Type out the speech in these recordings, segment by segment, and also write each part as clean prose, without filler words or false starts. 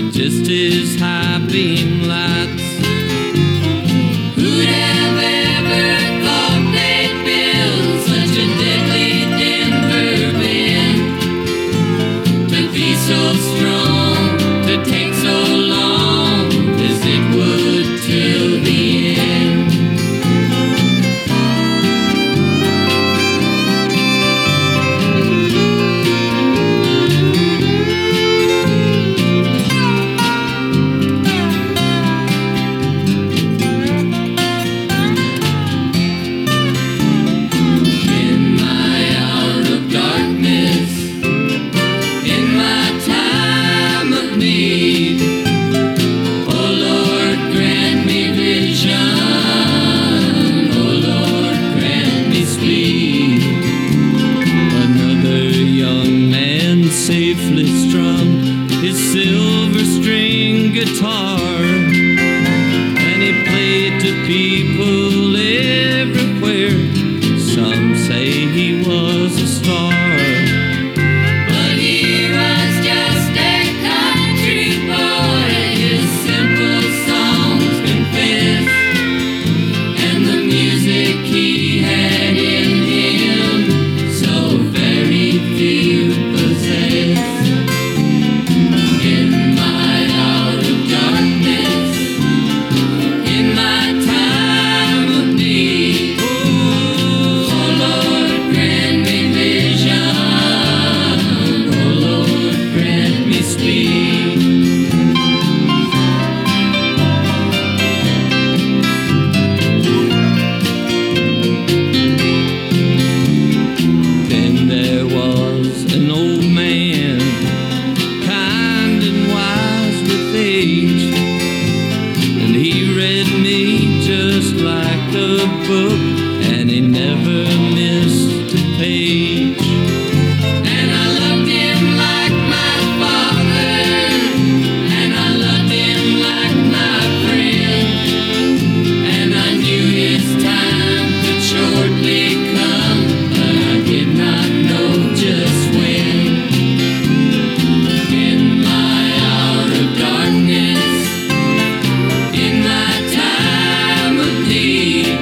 just his high beam lights. Who'd have ever thought they'd build such a deadly Denver band to be so strong, to take so long as it would till the end. Safely strum his silver string guitar, and he played to people everywhere. Some say he was a star, but he was just a country boy. His simple songs confess, and the music he had in him so very few possess. Book, and he never missed a page. And I loved him like my father, and I loved him like my friend, and I knew his time would shortly come, but I did not know just when. In my hour of darkness, in my time of need,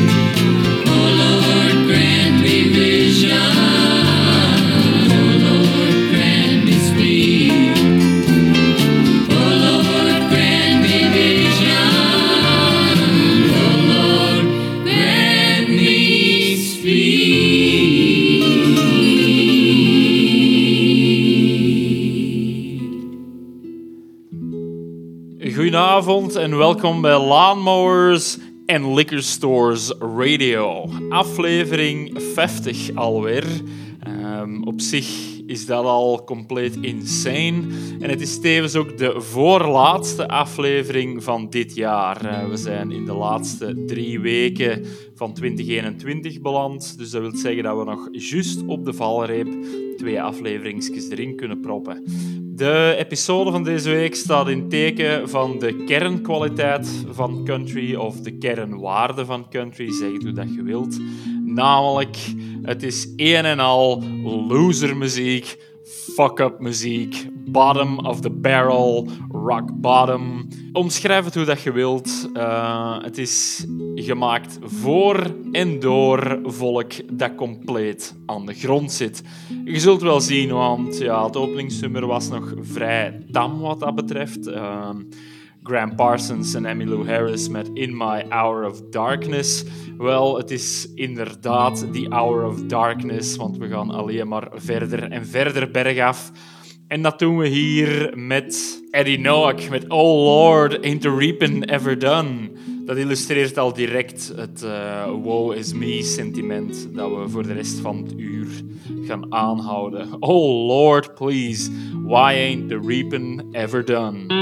Goedenavond en welkom bij Lawnmowers and Liquor Stores Radio. Aflevering 50 alweer. Op zich is dat al compleet insane. En het is tevens ook de voorlaatste aflevering van dit jaar. We zijn in de laatste 3 weken van 2021 beland. Dus dat wil zeggen dat we nog juist op de valreep 2 afleveringsjes erin kunnen proppen. De episode van deze week staat in teken van de kernkwaliteit van country of de kernwaarde van country, zeg het hoe dat je wilt. Namelijk, het is een en al losermuziek, fuck-up muziek, bottom of the barrel, rock bottom. Omschrijf het hoe dat je wilt. Het is gemaakt voor en door volk dat compleet aan de grond zit. Je zult wel zien, want ja, het openingsnummer was nog vrij tam wat dat betreft. Graham Parsons en Emmylou Harris met In My Hour of Darkness. Wel, het is inderdaad die Hour of Darkness, want we gaan alleen maar verder en verder bergaf. En dat doen we hier met Eddie Noack, met Oh Lord, Ain't the Reapin' Ever Done. Dat illustreert al direct het woe is me sentiment dat we voor de rest van het uur gaan aanhouden. Oh Lord, please, why ain't the reapin' ever done?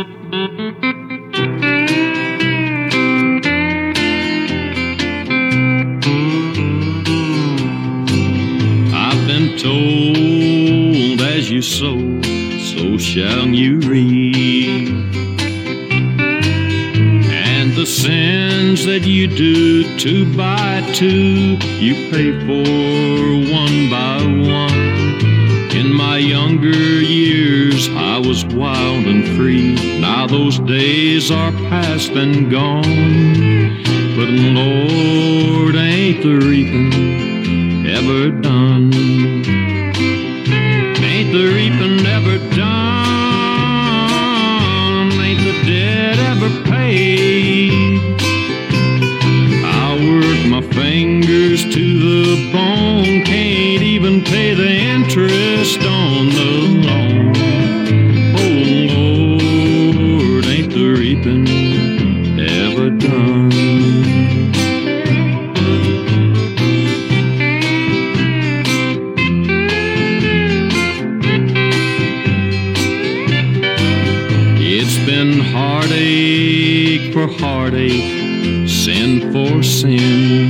I've been told as you sow, so shall you reap. And the sins that you do 2 by 2, you pay for 1 by 1. In my my younger years, I was wild and free. Now those days are past and gone. But Lord, ain't the reaping ever done? Ain't the reaping ever done? Ain't the debt ever paid? I work my fingers to the bone, can't even pay the interest on the loan. Oh Lord, ain't the reaping ever done? It's been heartache for heartache, sin for sin.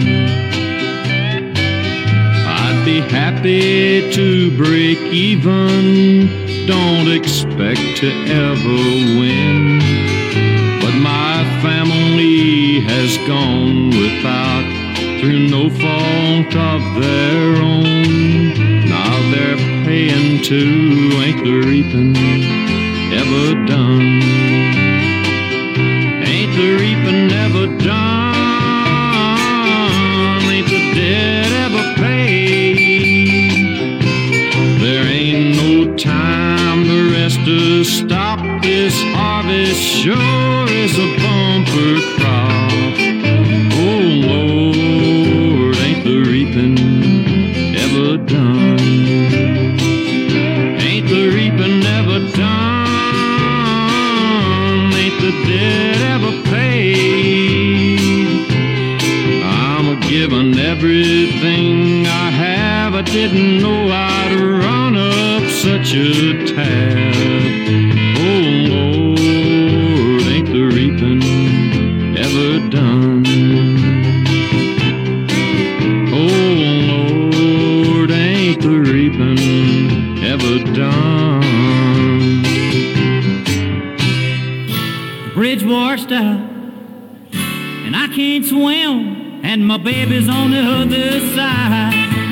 I'd be happy to break even, don't expect to ever win. But my family has gone without, through no fault of their own. Now they're paying too, ain't the reaping ever done? Ain't the reaping ever done? Ain't the debt ever paid? There ain't no time the rest to stop. This harvest sure is a bumper crop. Oh Lord, ain't the reaping ever done? Ain't the reaping ever done? Ain't the debt ever paid? I'm a-giving everything I have. I didn't know I'd run up such a tab. Oh Lord, ain't the reaping ever done? Oh Lord, ain't the reaping ever done? The bridge washed out, and I can't swim, and my baby's on the other side.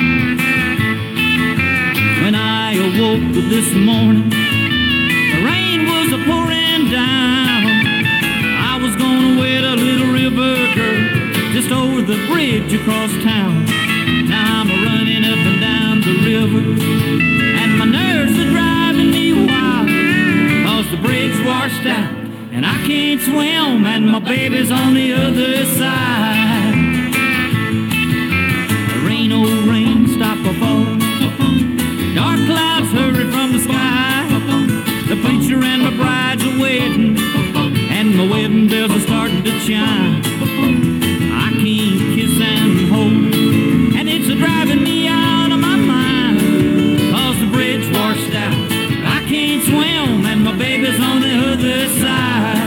When I awoke this morning, the rain was a-pouring down. I was gonna wed a little river girl just over the bridge across town. Now I'm running up and down the river, and my nerves are driving me wild, 'cause the bridge washed out, and I can't swim, and my baby's on the other side. Rain, oh rain, stop a falling. Dark clouds hurry from the sky. The preacher and my bride's are waiting, and my wedding bells are starting to chime. I can't kiss and hold, and it's driving me out of my mind, 'cause the bridge washed out. I can't swim, and my baby's on the other side.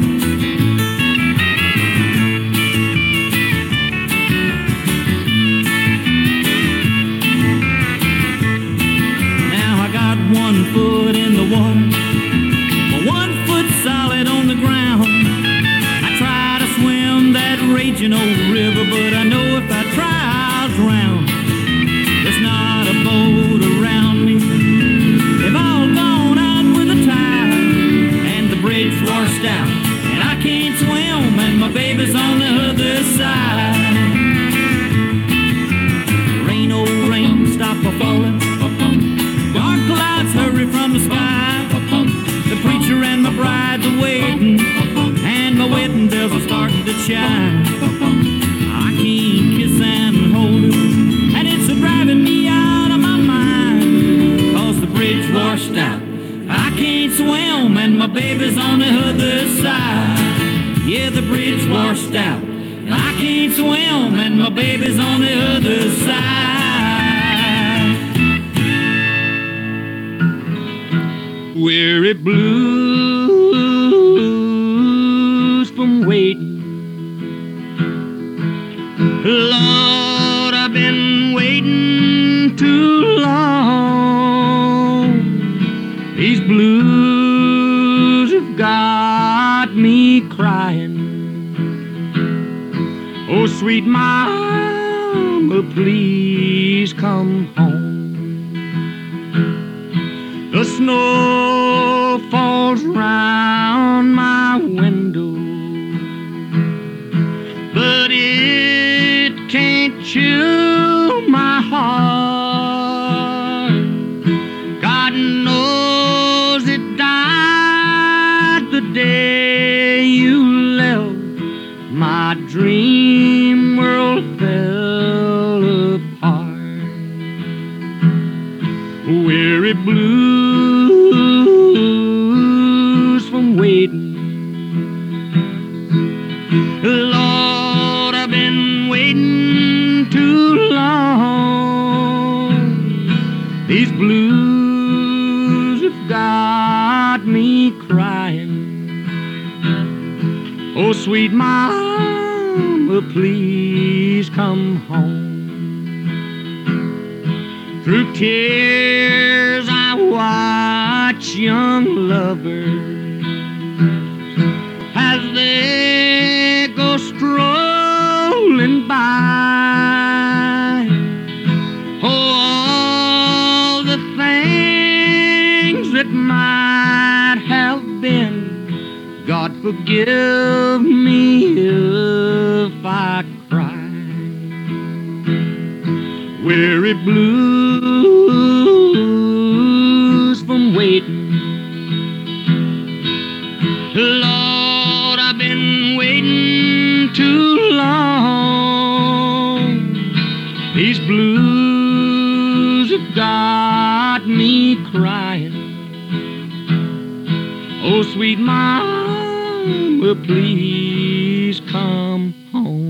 One foot in the water, but 1 foot solid on the ground. I try to swim that raging old river, but I know if I try I'll drown. There's not a boat around me, they've all gone out with the tide, and the bridge washed out, and I can't swim, and my baby's on the other side. Rain, oh rain, stop a-falling. Dark clouds hurry from the sky. The preacher and my bride's are waiting, and my wedding bells are starting to chime. I can't kiss and hold her, and it's driving me out of my mind, 'cause the bridge washed out. I can't swim, and my baby's on the other side. Yeah, the bridge washed out. I can't swim, and my baby's on the other side. Weary blues from waiting. Lord, I've been waiting too long. These blues have got me crying. Oh, sweet mama, please come home. The snow falls round my window, but it can't chill my heart. God knows it died the day you left. My dream world fell apart. Weary blues from waiting. Lord, I've been waiting too long. These blues have got me crying. Oh, sweet mama, please come home. Through tears I watch young lovers as they go strolling by. Oh, all the things that might have been, God forgive me if I cry. Weary blues from waiting. Lord, I've been waiting too long. These blues have got me crying. Oh, sweet mama, please come home.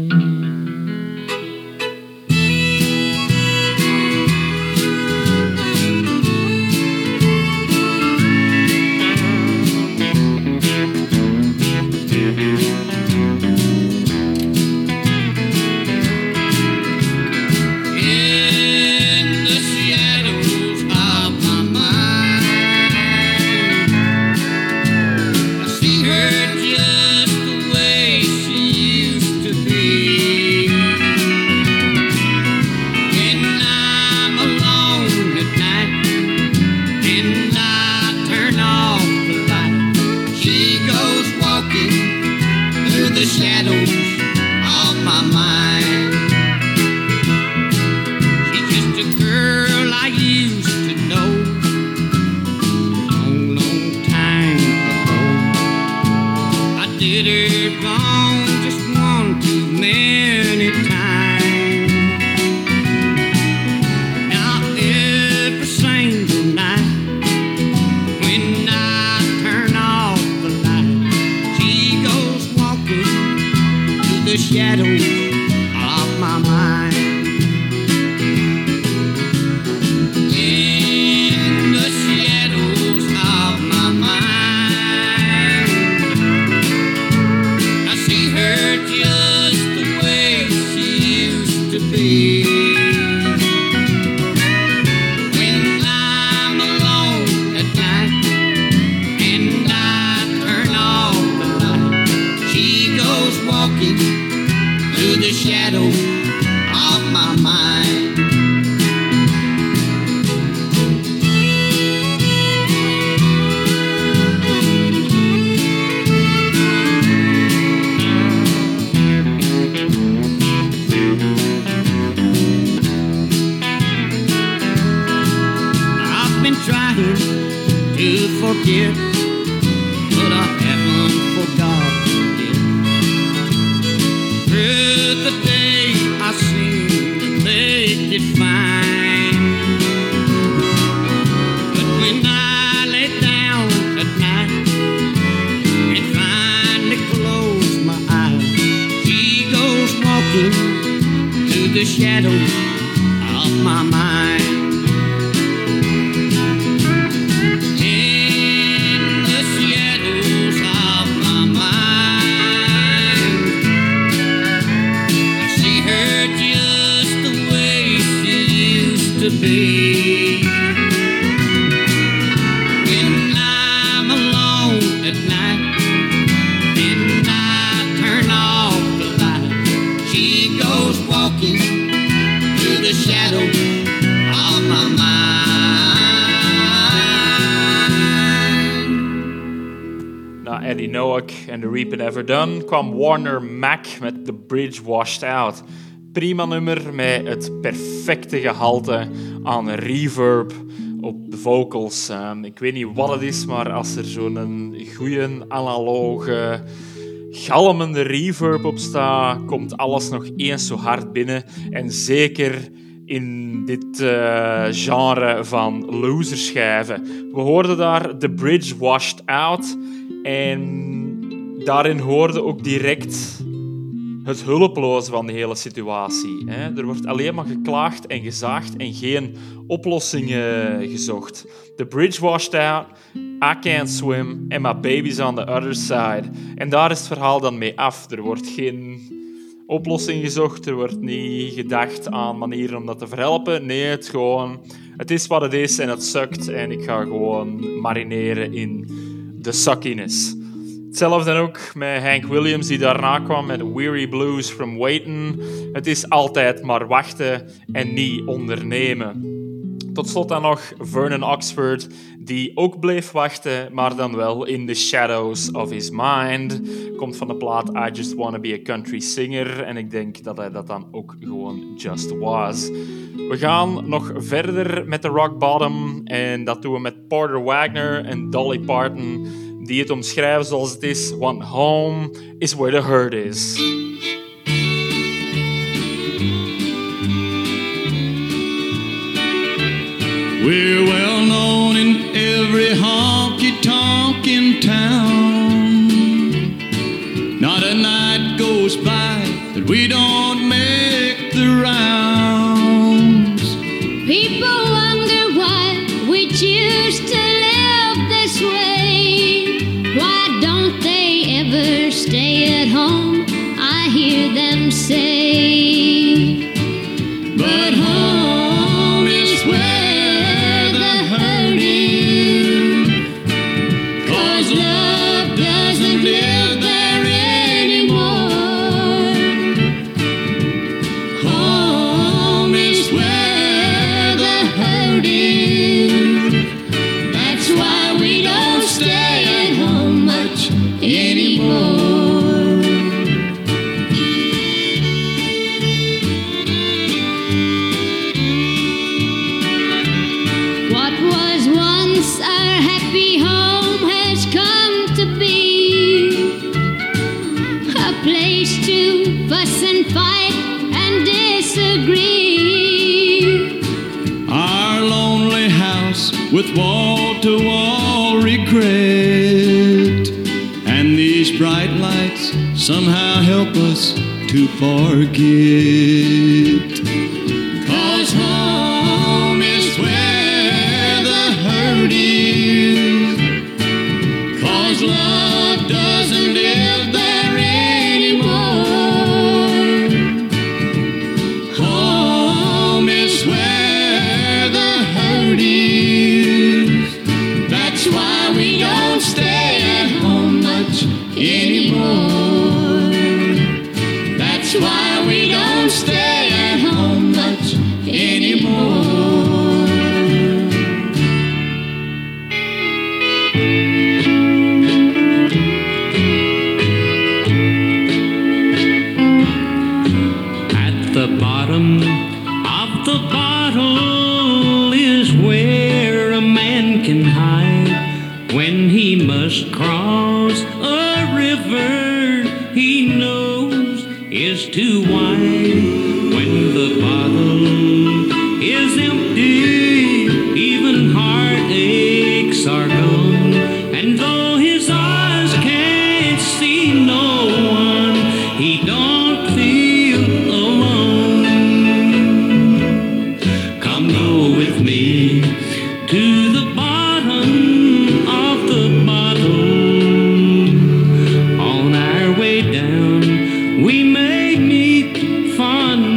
Eddie Noack en The Reaping Ever Done kwam Warner Mac met The Bridge Washed Out. Prima nummer met het perfecte gehalte aan reverb op de vocals. Ik weet niet wat het is, maar als er zo'n goede analoge galmende reverb op staat, komt alles nog eens zo hard binnen. En zeker in dit genre van loserschijven. We hoorden daar The Bridge Washed Out en daarin hoorde ook direct het hulpeloze van de hele situatie. Er wordt alleen maar geklaagd en gezaagd en geen oplossingen gezocht. The bridge washed out, I can't swim and my baby's on the other side. En daar is het verhaal dan mee af. Er wordt geen oplossing gezocht, er wordt niet gedacht aan manieren om dat te verhelpen. Nee, het is wat het is en het sukt en ik ga gewoon marineren in de suckiness. Hetzelfde ook met Hank Williams, die daarna kwam met Weary Blues from Waiting. Het is altijd maar wachten en niet ondernemen. Tot slot dan nog Vernon Oxford, die ook bleef wachten, maar dan wel in the shadows of his mind. Komt van de plaat I Just Wanna Be a Country Singer en ik denk dat hij dat dan ook gewoon just was. We gaan nog verder met de rock bottom en dat doen we met Porter Wagoner en Dolly Parton, die het omschrijven zoals het is: want home is where the hurt is. We're well known in every honky-tonk in town. Not a night goes by that we don't make the rounds. People wonder why we choose to live this way. Why don't they ever stay at home? I hear them say. But home is where the hurt is. 'Cause love doesn't live there anymore. Home is where the hurt is. That's why we don't stay at home much anymore. What was once our happy home has come to be a place to fuss and fight and disagree. Our lonely house with wall-to-wall regret. And these bright lights somehow help us to forget. 'Cause home is where the hurt is. 'Cause love doesn't live there anymore. Home is where the hurt is. That's why we don't stay at home much anymore. That's why we don't stay at home much anymore. At the bottom of the bottle is where a man can hide when he must cross a river he knows is too wide. When the bottle is empty, even heartaches are gone. And though his eyes can't see no one, he don't feel alone. Come go with me to the bottom of the bottle. On our way down, we may meet fun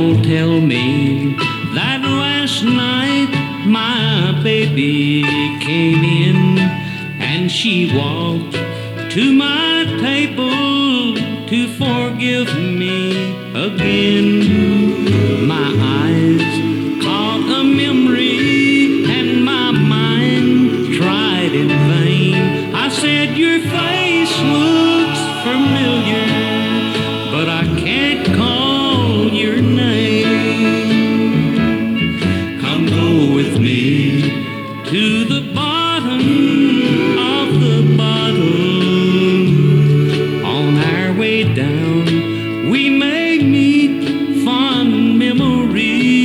all tell me that last night my baby came in and she walked to my table to forgive me again. My eyes caught a memory and my mind tried in vain. I said, your face looks familiar, but I can't call your name. Come go with me to the bottom of the bottle. On our way down, we may meet fond memories.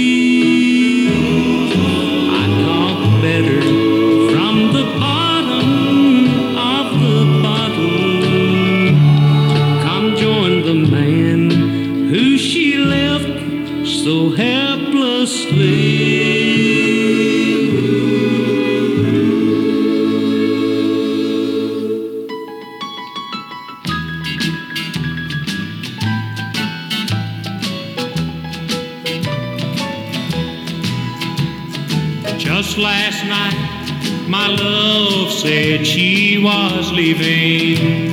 I talk better from the bottom of the bottle. Come join the man who she left so helplessly. Just last night, my love said she was leaving.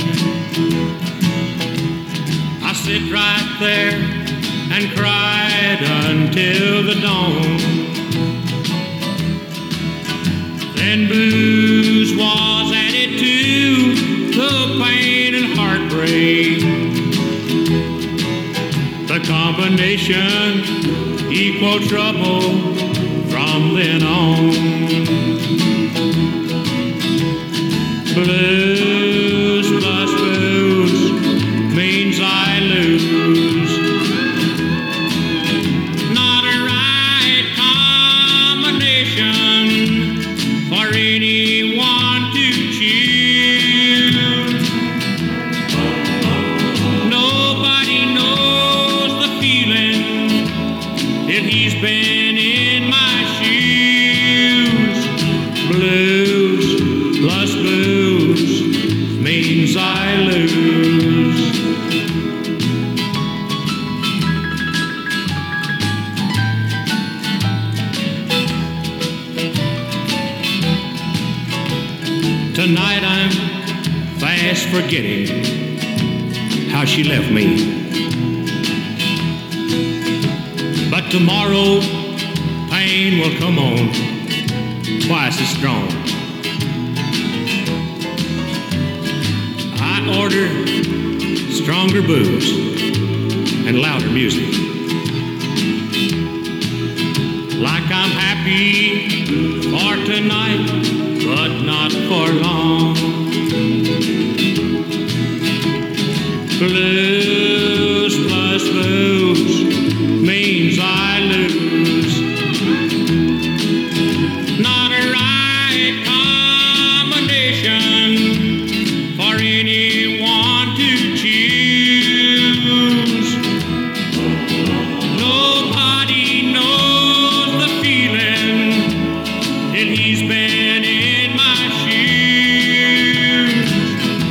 I sit right there and cried until the dawn. Then blues was added to the pain and heartbreak. The combination equal trouble from then on. Blues plus booze means I lose. Not a right combination for anyone to choose. Nobody knows the feeling if he's been in my shoes. Blues plus booze means I lose. Tonight I'm fast forgetting how she left me. But tomorrow pain will come on twice as strong. I order stronger booze and louder music. Like I'm happy for tonight, but not for long. Blues plus booze means I lose. Not a right combination for anyone to choose. Nobody knows the feeling that he's been in my shoes.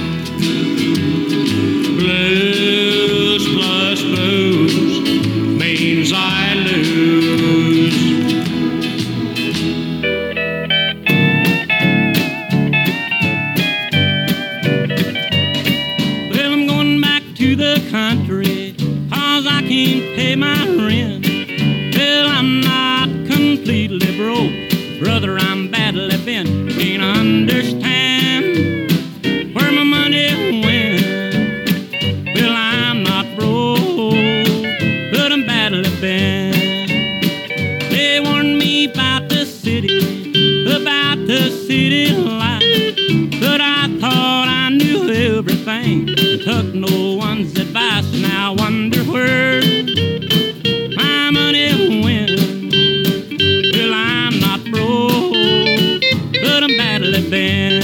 Blues plus booze means I lose. Well, I'm going back to the country 'cause I can't pay my rent. Well, I'm not completely broke, brother, I'm badly bent. Can't understand where my money went. Well, I'm not broke, but I'm badly bent. They warned me about the city life, but I thought I knew everything. Took no one's advice, now I wonder where my money went. Well, I'm not broke, but I'm badly bent.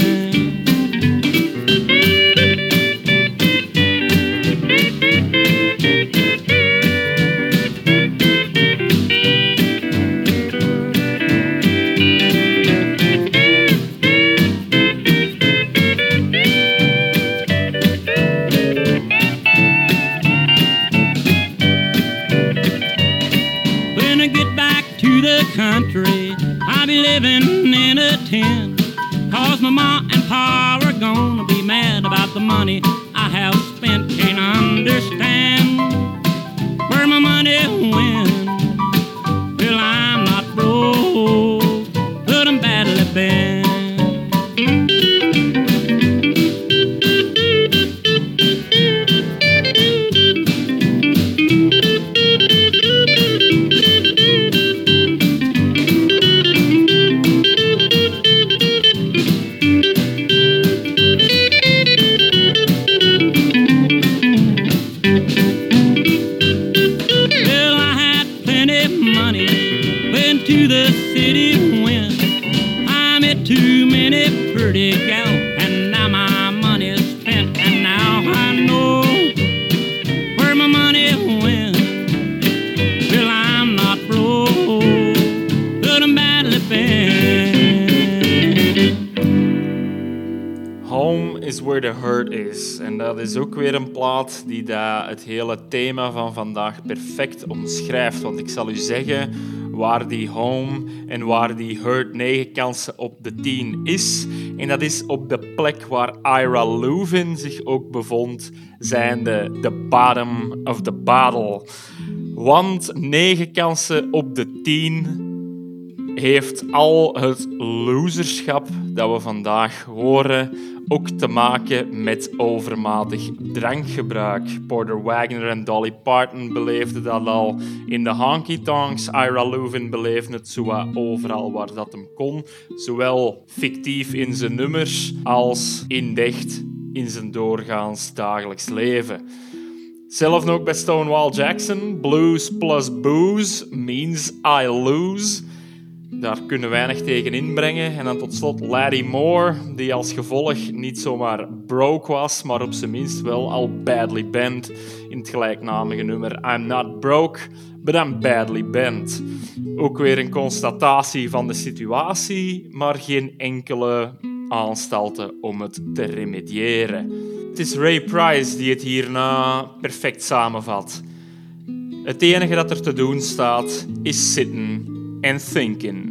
country, I be living in a tent. 'Cause my ma and pa are gonna be mad about the money I have spent. Can't understand where my money went. Well, I'm not broke, but I'm badly bent. To the city went. I met too many pretty gals, and now my money's spent. And now I know where my money went. Well, I'm not broke, but I'm badly bent. Home is where the hurt is. En dat is ook weer een plaat die het hele thema van vandaag perfect omschrijft. Want ik zal u zeggen waar die home en waar die hurt 9 kansen op de 10 is. En dat is op de plek waar Ira Louvin zich ook bevond, zijnde the bottom of the bottle. Want 9 kansen op de 10 heeft al het loserschap dat we vandaag horen ook te maken met overmatig drankgebruik. Porter Wagoner en Dolly Parton beleefden dat al in de honky tonks. Ira Louvin beleefde het zo overal waar dat hem kon. Zowel fictief in zijn nummers als indecht in zijn doorgaans dagelijks leven. Zelf ook bij Stonewall Jackson. Blues plus booze means I lose. Daar kunnen we weinig tegen inbrengen. En dan tot slot Laddie Moore, die als gevolg niet zomaar broke was, maar op zijn minst wel al badly bent in het gelijknamige nummer I'm not broke, but I'm badly bent. Ook weer een constatatie van de situatie, maar geen enkele aanstalten om het te remediëren. Het is Ray Price die het hierna perfect samenvat. Het enige dat er te doen staat is zitten and thinking.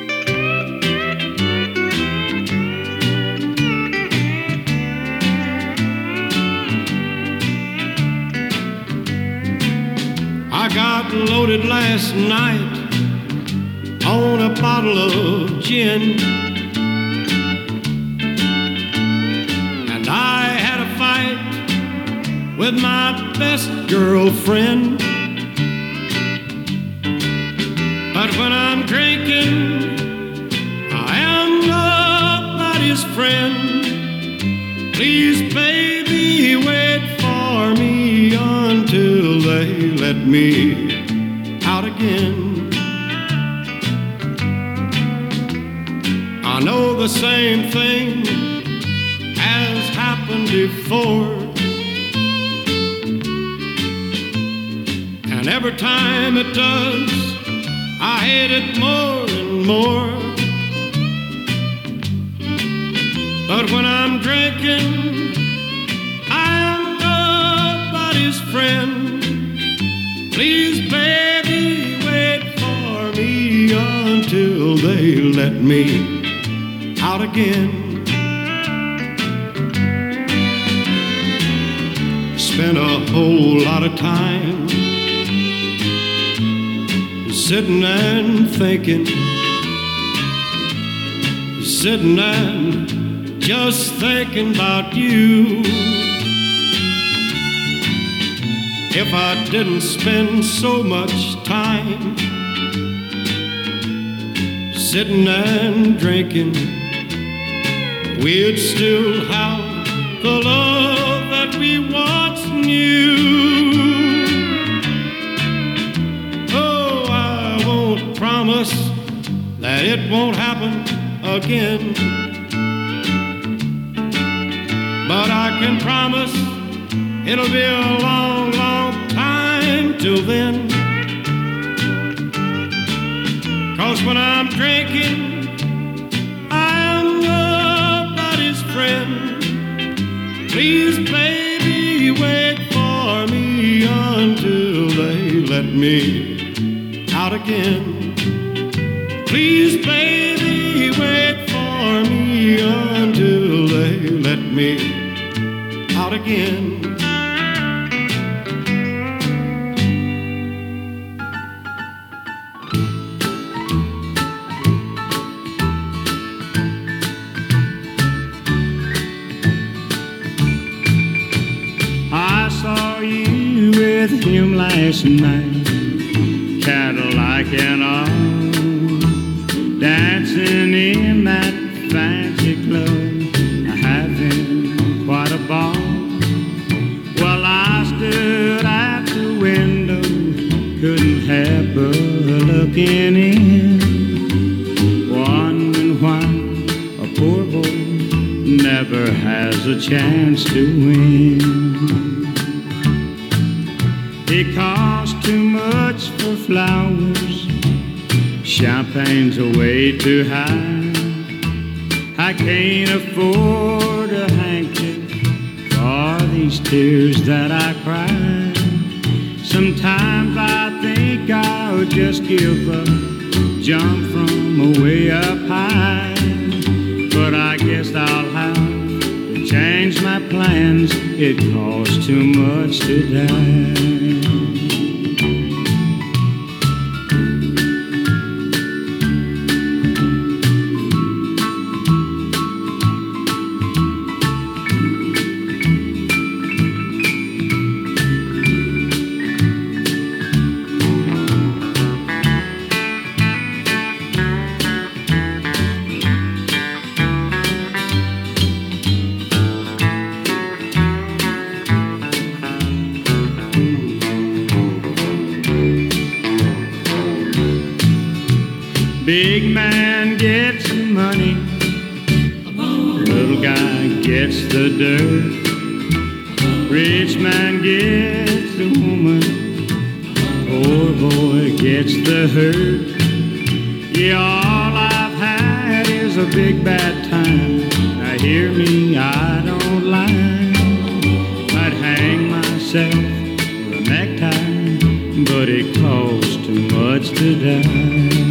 I got loaded last night on a bottle of gin, and I had a fight with my best girlfriend. But when I'm drinking, I am nobody's friend. Please, baby, wait for me until they let me out again. I know the same thing has happened before, and every time it does, I hate it more and more. But when I'm drinking, I'm nobody's friend. Please, baby, wait for me until they let me out again. Spent a whole lot of time sitting and thinking, sitting and just thinking about you. If I didn't spend so much time sitting and drinking, we'd still have the love that we once knew. Promise that it won't happen again, but I can promise it'll be a long, long time till then. 'Cause when I'm drinking, I'm nobody's friend. Please, baby, wait for me until they let me out again. Please, baby, wait for me until they let me out again. I saw you with him last night, Cadillac and all, dancing in that fancy club, having quite a ball. Well, I stood at the window, couldn't help but looking in, wondering why a poor boy never has a chance to win. It costs too much for flowers, champagne's way too high. I can't afford a handkerchief for these tears that I cry. Sometimes I think I'll just give up, jump from way up high. But I guess I'll have to change my plans, it costs too much to die. Big man gets the money, little guy gets the dirt. Rich man gets the woman, poor boy gets the hurt. Yeah, all I've had is a big bad time. Now hear me, I don't lie. I'd hang myself with a necktie, but it costs too much to die.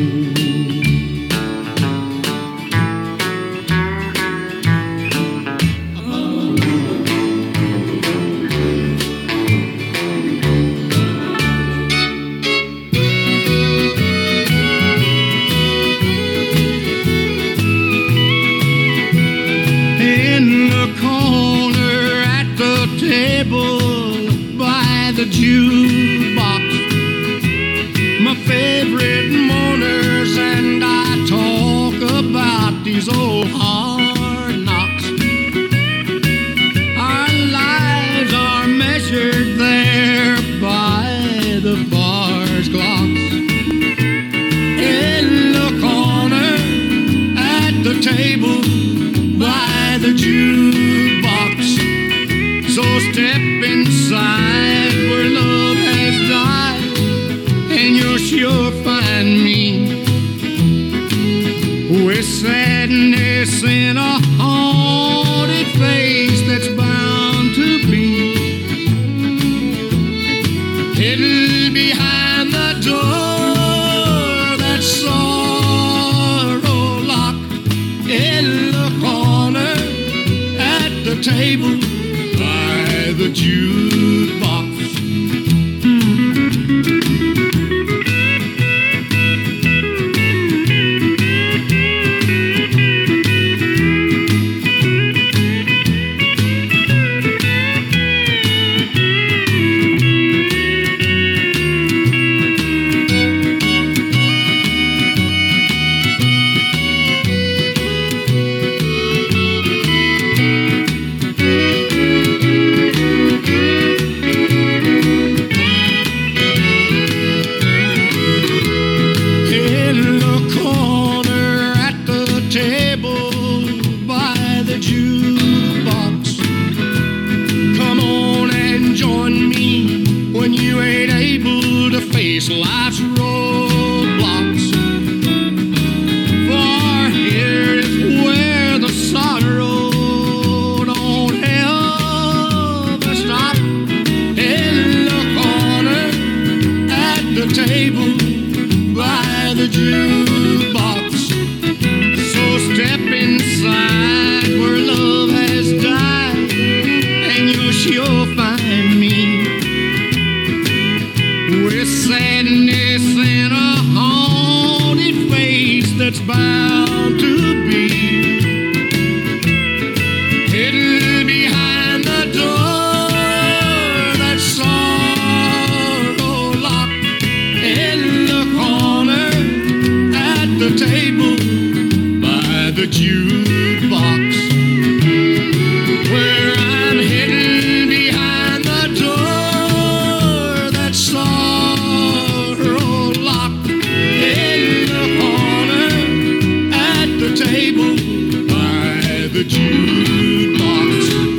The jukebox, my favorite mourners, and I talk about these old hard knocks. Our lives are measured there by the bar's clocks. In the corner at the table by the jukebox, so step inside where love has died, and you'll sure find me with sadness in a haunted face that's bound to be hidden behind the door that sorrow locked. In the corner at the table by the jukebox. Life's roadblocks, for here is where the sorrow don't ever stop. In the corner at the table by the Jew. sadness and a haunted face that's bound to be hidden behind the door that's sorrow locked in the corner at the table by the jukebox, where I'm hidden behind the door that's sorrow locked in the corner at the table by the jukebox.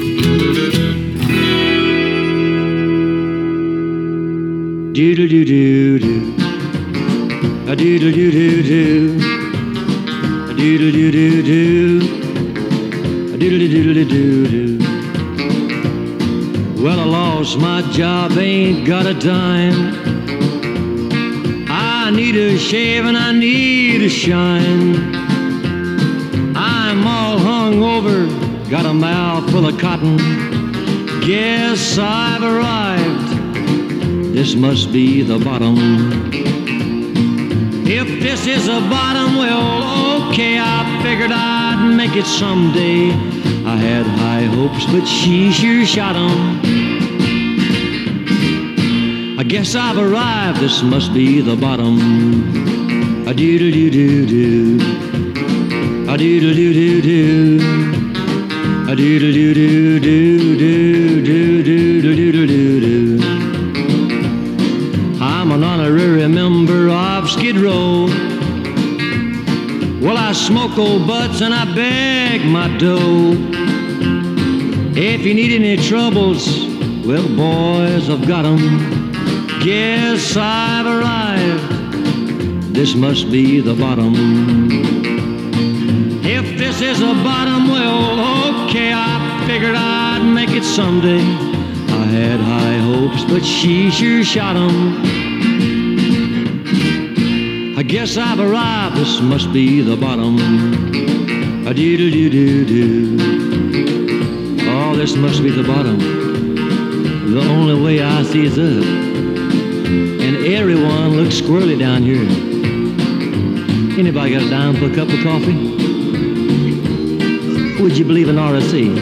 Doodle doo doo doo, a doodle doo doo doo, a doodle doo doo doo, a doodle doo doo doo doo. Well, I lost my job, ain't got a dime. I need a shave and I need a shine. I'm all hung over, got a mouth full of cotton. Guess I've arrived. This must be the bottom. If this is the bottom, well, okay, I figured I'd make it someday. I had high hopes, but she sure shot 'em. I guess I've arrived, this must be the bottom. A doodle doo doo doo, a doodle doo doo doo, a doodle doo doo doo doo doo doo doo doo doo doo. I'm an honorary member of Skid Row. Well, I smoke old butts and I beg my dough. If you need any troubles, well, boys, I've got 'em. Guess I've arrived. This must be the bottom. If this is the bottom, well, okay, I figured I'd make it someday. I had high hopes, but she sure shot 'em. I guess I've arrived, this must be the bottom. A doodle doo doo doo. Oh, this must be the bottom. The only way I see is up. And everyone looks squirrely down here. Anybody got a dime for a cup of coffee? Would you believe in RSC?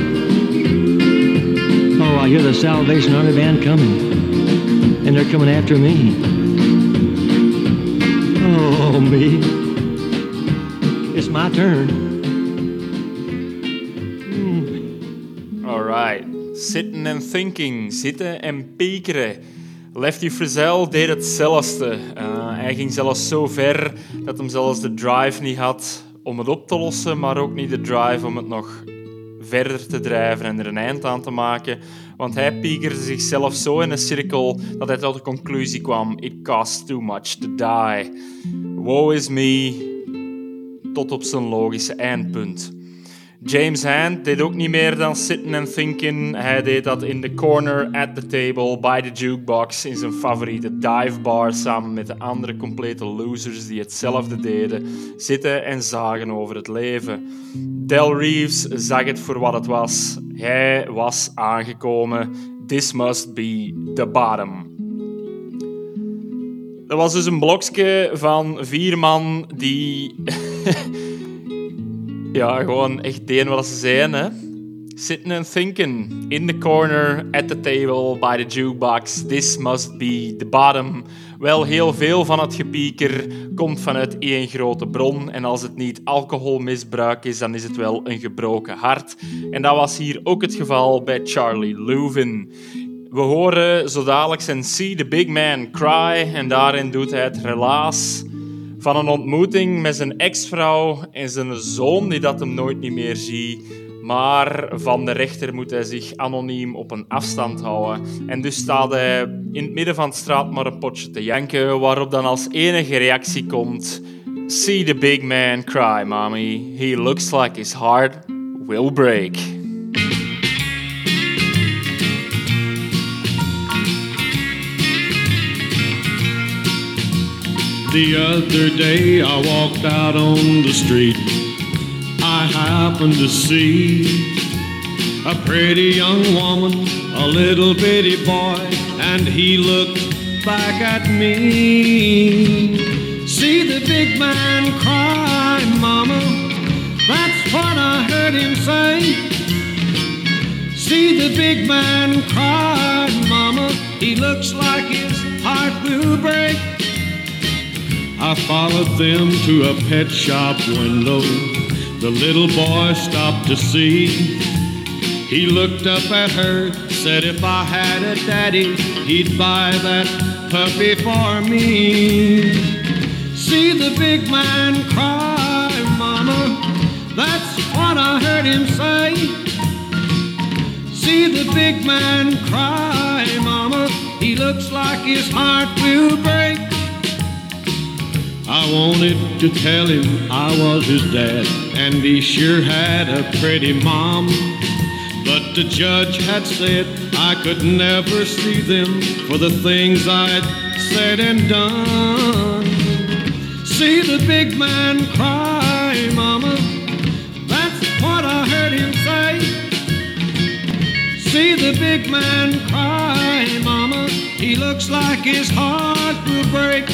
Oh, I hear the Salvation Army band coming. And they're coming after me. Oh, me. It's my turn. Alright. Sitting and thinking. Zitten en piekeren. Lefty Frizzell deed hetzelfde. Hij ging zelfs zo ver dat hij zelfs de drive niet had om het op te lossen, maar ook niet de drive om het nog verder te drijven en er een eind aan te maken. Want hij piekerde zichzelf zo in een cirkel dat hij tot de conclusie kwam: it costs too much to die. Woe is me, tot op zijn logische eindpunt. James Hand deed ook niet meer dan sitting and thinking. Hij deed dat in the corner at the table by the jukebox in zijn favoriete dive bar samen met de andere complete losers die hetzelfde deden, zitten en zagen over het leven. Del Reeves zag het voor wat het was. Hij was aangekomen. This must be the bottom. Dat was dus een blokje van 4 man die ja, gewoon echt deden wat ze zeiden, hè. Sitting and thinking, in the corner, at the table, by the jukebox, this must be the bottom. Wel, heel veel van het gepieker komt vanuit één grote bron. En als het niet alcoholmisbruik is, dan is het wel een gebroken hart. En dat was hier ook het geval bij Charlie Louvin. We horen zo dadelijk zijn See the Big Man Cry. En daarin doet hij het relaas van een ontmoeting met zijn ex-vrouw en zijn zoon die dat hem nooit niet meer ziet. Maar van de rechter moet hij zich anoniem op een afstand houden. En dus staat hij in het midden van de straat maar een potje te janken, waarop dan als enige reactie komt: See the big man cry, mommy. He looks like his heart will break. The other day I walked out on the street. I happened to see a pretty young woman, a little bitty boy, and he looked back at me. See the big man cry, mama, that's what I heard him say. See the big man cry, mama, he looks like his heart will break. I followed them to a pet shop window. The little boy stopped to see. He looked up at her, said if I had a daddy, he'd buy that puppy for me. See the big man cry, mama, that's what I heard him say. See the big man cry, mama, he looks like his heart will break. I wanted to tell him I was his dad, and he sure had a pretty mom. But the judge had said I could never see them for the things I'd said and done. See the big man cry, mama, that's what I heard him say. See the big man cry, mama, he looks like his heart will break.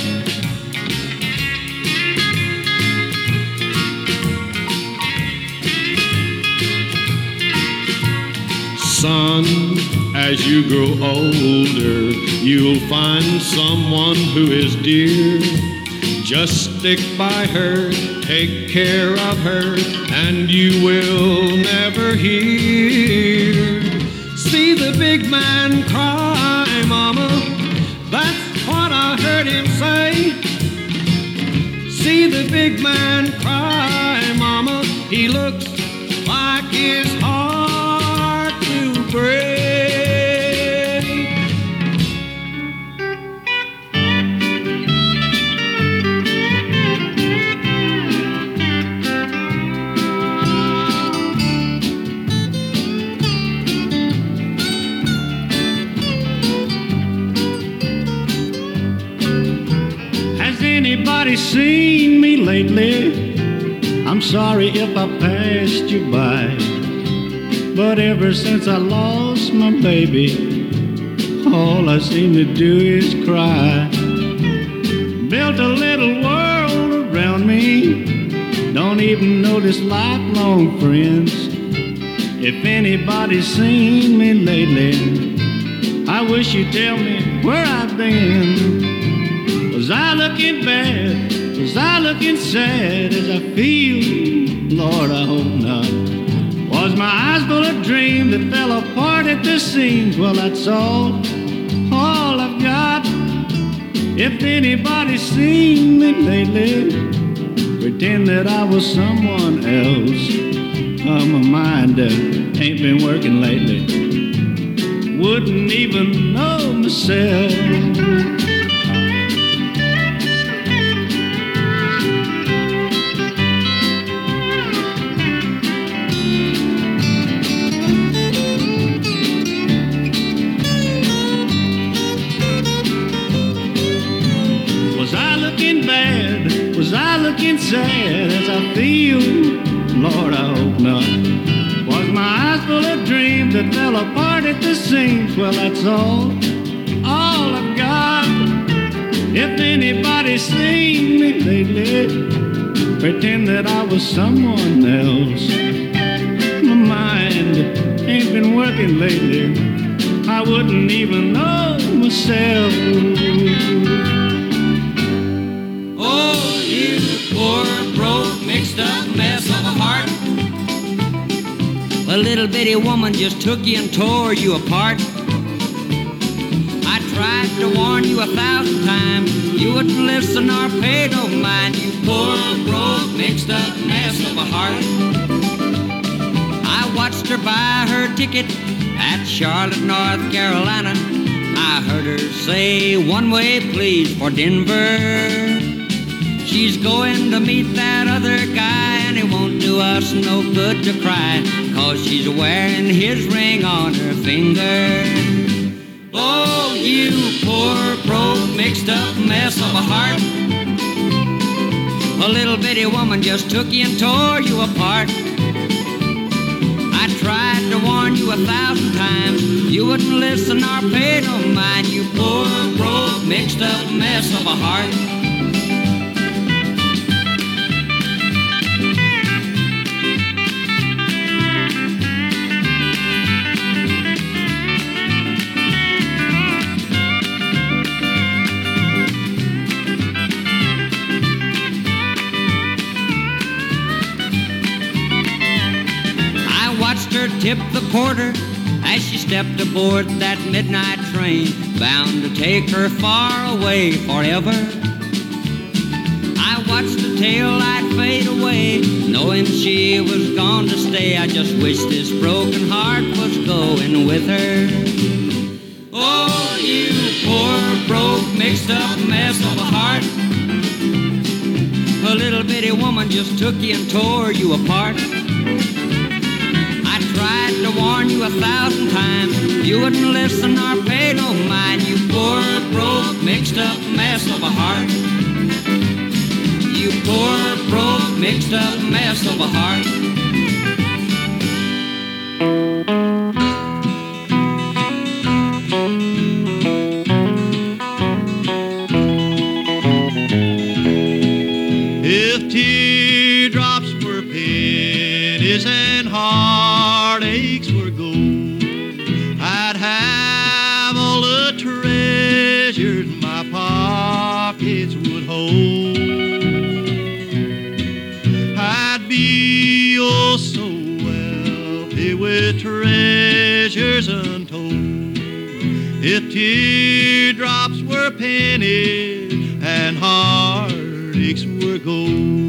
Son, as you grow older, you'll find someone who is dear. Just stick by her, take care of her, and you will never hear. See the big man cry, mama, that's what I heard him say. See the big man cry, mama, he looks like his heart will break. Anybody seen me lately? I'm sorry if I passed you by, but ever since I lost my baby, all I seem to do is cry. Built a little world around me, don't even notice lifelong friends. If anybody's seen me lately, I wish you'd tell me where I've been. Was I looking bad? Was I looking sad as I feel? Lord, I hope not. Was my eyes full of dreams that fell apart at the seams? Well, that's all I've got. If anybody's seen me lately, pretend that I was someone else. Oh, my mind ain't been working lately. Wouldn't even know myself. Was I looking sad as I feel? Lord, I hope not. Was my eyes full of dreams that fell apart at the seams? Well, that's all I've got. If anybody's seen me lately, pretend that I was someone else. My mind ain't been working lately. I wouldn't even know myself. Poor, broke, mixed up mess of a heart. A little bitty woman just took you and tore you apart. I tried to warn you 1,000 times. You wouldn't listen or pay no mind. You poor, broke, mixed up mess of a heart. I watched her buy her ticket at Charlotte, North Carolina. I heard her say, "One way, please, for Denver." She's going to meet that other guy, and it won't do us no good to cry, 'cause she's wearing his ring on her finger. Oh, you poor, broke, mixed up mess of a heart. A little bitty woman just took you and tore you apart. I tried to warn you 1,000 times. You wouldn't listen or pay no mind. You poor, broke, mixed up mess of a heart. Tip the porter as she stepped aboard that midnight train, bound to take her far away forever. I watched the tail light fade away, knowing she was gone to stay. I just wish this broken heart was going with her. Oh, you poor, broke, mixed up mess of a heart. A little bitty woman just took you and tore you apart. Tried to warn you 1,000 times. You wouldn't listen or pay no mind. You poor, broke, mixed up mess of a heart. You poor, broke, mixed up mess of a heart. If teardrops were pennies and heartaches were gold, I'd have all the treasures my pockets would hold. I'd be oh so wealthy with treasures untold. If teardrops were pennies and heartaches were gold.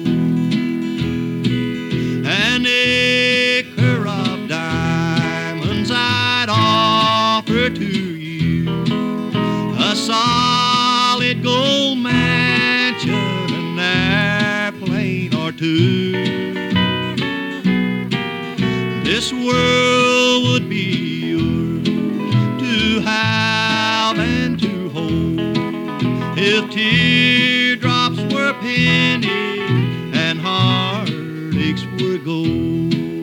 An acre of diamonds I'd offer to you, a solid gold mansion, an airplane or two. This world would be yours to have and to hold if teardrops were pennies and heartaches were gold.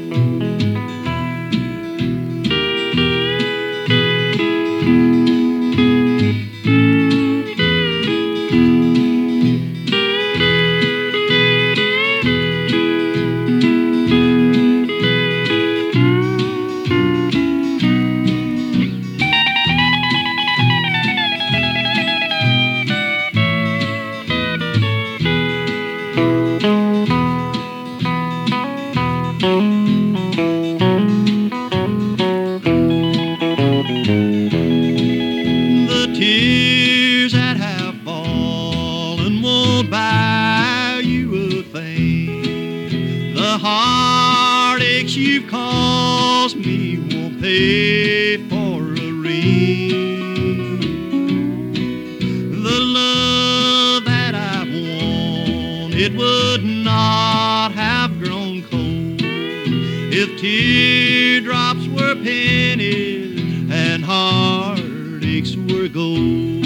Teardrops were pennies and heartaches were gold.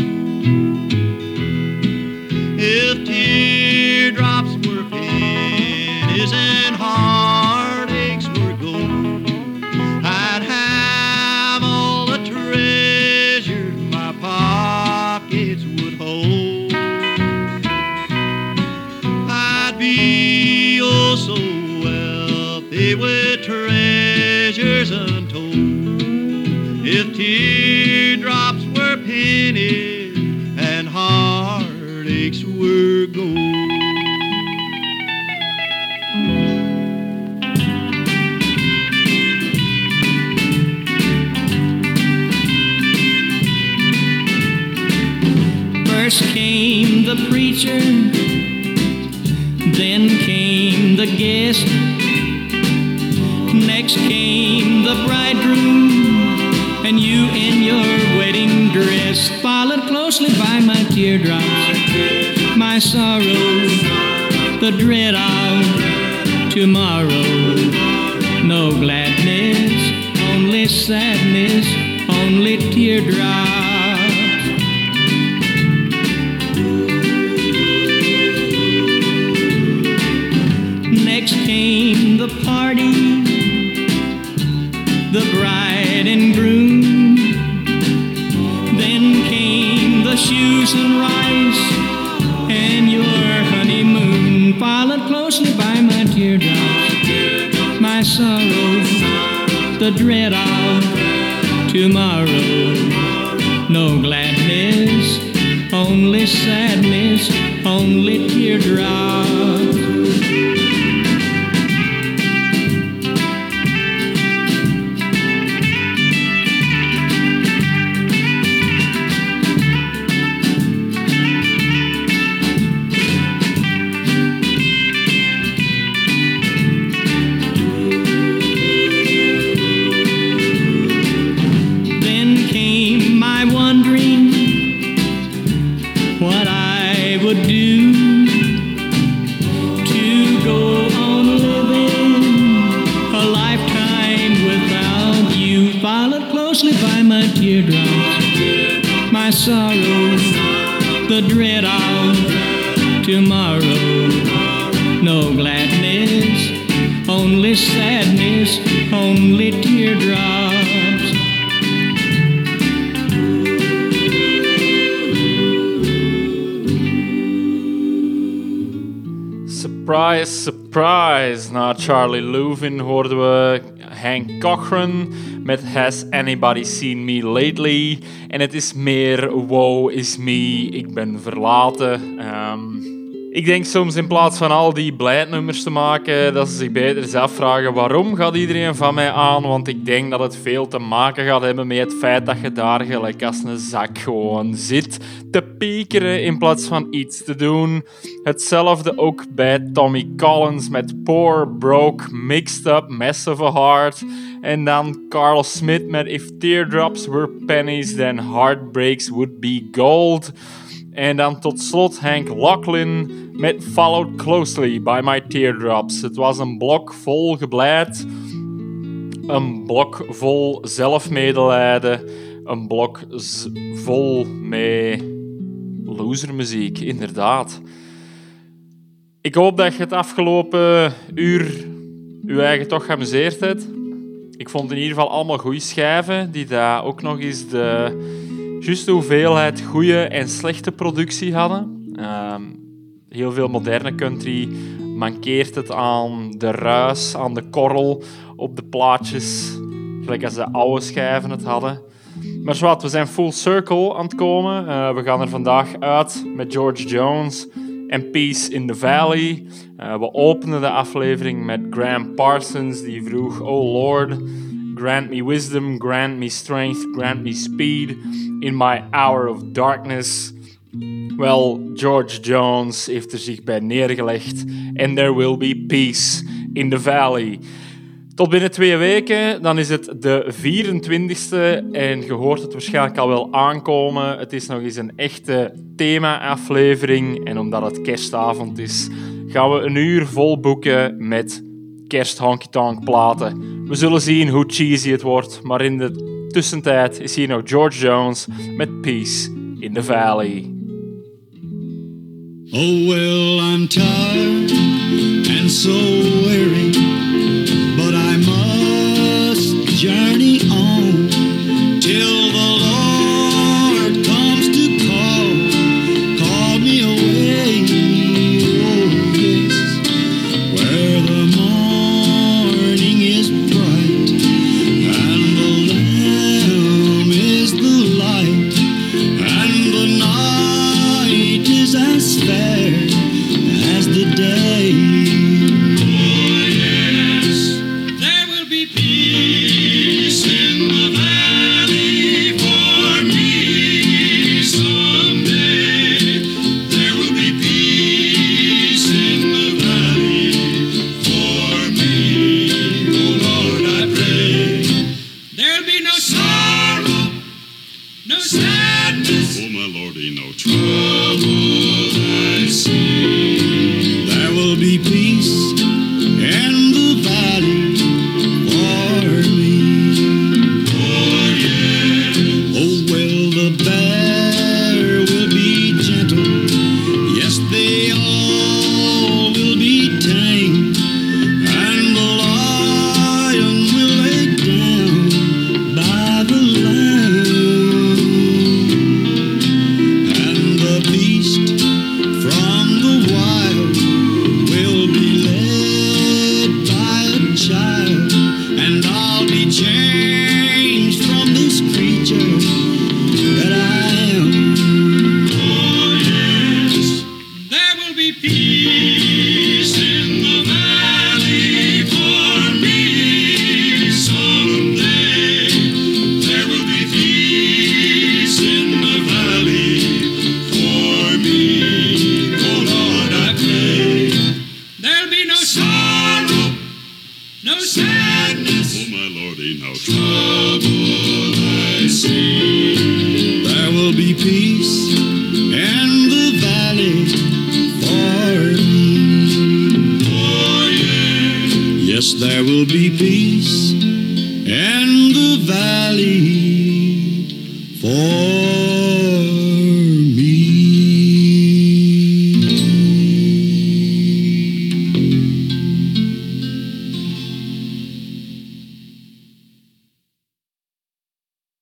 If teardrops were pennies and heartaches were gold, I'd have all the treasures my pockets would hold. I'd be oh so wealthy with treasures untold if teardrops were pennies and heartaches were gold. First came the preacher, then came the guest. Next came the bridegroom, and you in your wedding dress, followed closely by my teardrops, my sorrow, the dread of tomorrow. No gladness, only sadness, only teardrops. Next came the party, stews and rice and your honeymoon. Followed closely by my teardrops, my sorrows, the dread of tomorrow. No gladness, only sadness, only teardrops. Sorrows, the dread of tomorrow. No gladness, only sadness, only teardrops. Surprise, surprise. Na Charlie Louvin hoorden we Hank Cochran met Has Anybody Seen Me Lately? En het is meer Woe is me, ik ben verlaten. Ik denk soms in plaats van al die blijdnummers te maken, dat ze zich beter eens afvragen waarom gaat iedereen van mij aan, want ik denk dat het veel te maken gaat hebben met het feit dat je daar gelijk als een zak gewoon zit te piekeren in plaats van iets te doen. Hetzelfde ook bij Tommy Collins met Poor, Broke, Mixed Up, Mess of a Heart. En dan Carl Smith met If Teardrops Were Pennies, Then Heartbreaks Would Be Gold. En dan tot slot Hank Locklin met Followed Closely by My Teardrops. Het was een blok vol gebleid, een blok vol zelfmedelijden, een blok vol met losermuziek, inderdaad. Ik hoop dat je het afgelopen uur je eigen toch geamuseerd hebt. Ik vond in ieder geval allemaal goede schijven, die daar ook nog eens de juiste hoeveelheid goede en slechte productie hadden. Heel veel moderne country mankeert het aan de ruis, aan de korrel op de plaatjes, gelijk als de oude schijven het hadden. Maar zwart, we zijn full circle aan het komen. We gaan er vandaag uit met George Jones en Peace in the Valley. We openen de aflevering met Graham Parsons, die vroeg: Oh Lord, grant me wisdom, grant me strength, grant me speed in my hour of darkness. Wel, George Jones heeft er zich bij neergelegd. And there will be peace in the valley. Tot binnen 2 weken, dan is het de 24e en je hoort het waarschijnlijk al wel aankomen. Het is nog eens een echte thema-aflevering en omdat het kerstavond is, gaan we een uur vol boeken met kerst-honky-tonk platen. We zullen zien hoe cheesy het wordt, maar in de tussentijd is hier nog George Jones met Peace in the Valley. Oh, well, I'm tired and so weary, but I must journey on till the Lord comes to call me away. Oh, yes, where the morning is bright and the Lamb is the light and the night is as fair as the day. Oh, yes, there will be peace in the valley for me someday. There will be peace in the valley for me. Oh, Lord, I pray. There'll be no sorrow, no sadness. Oh, my Lordy, no trouble I see. There will be peace in the valley for me. Oh, yeah. Oh, well, the bear will be gentle. Yes, they all will be tame. And the lion will lay down by the lamb. And there will be peace in the valley for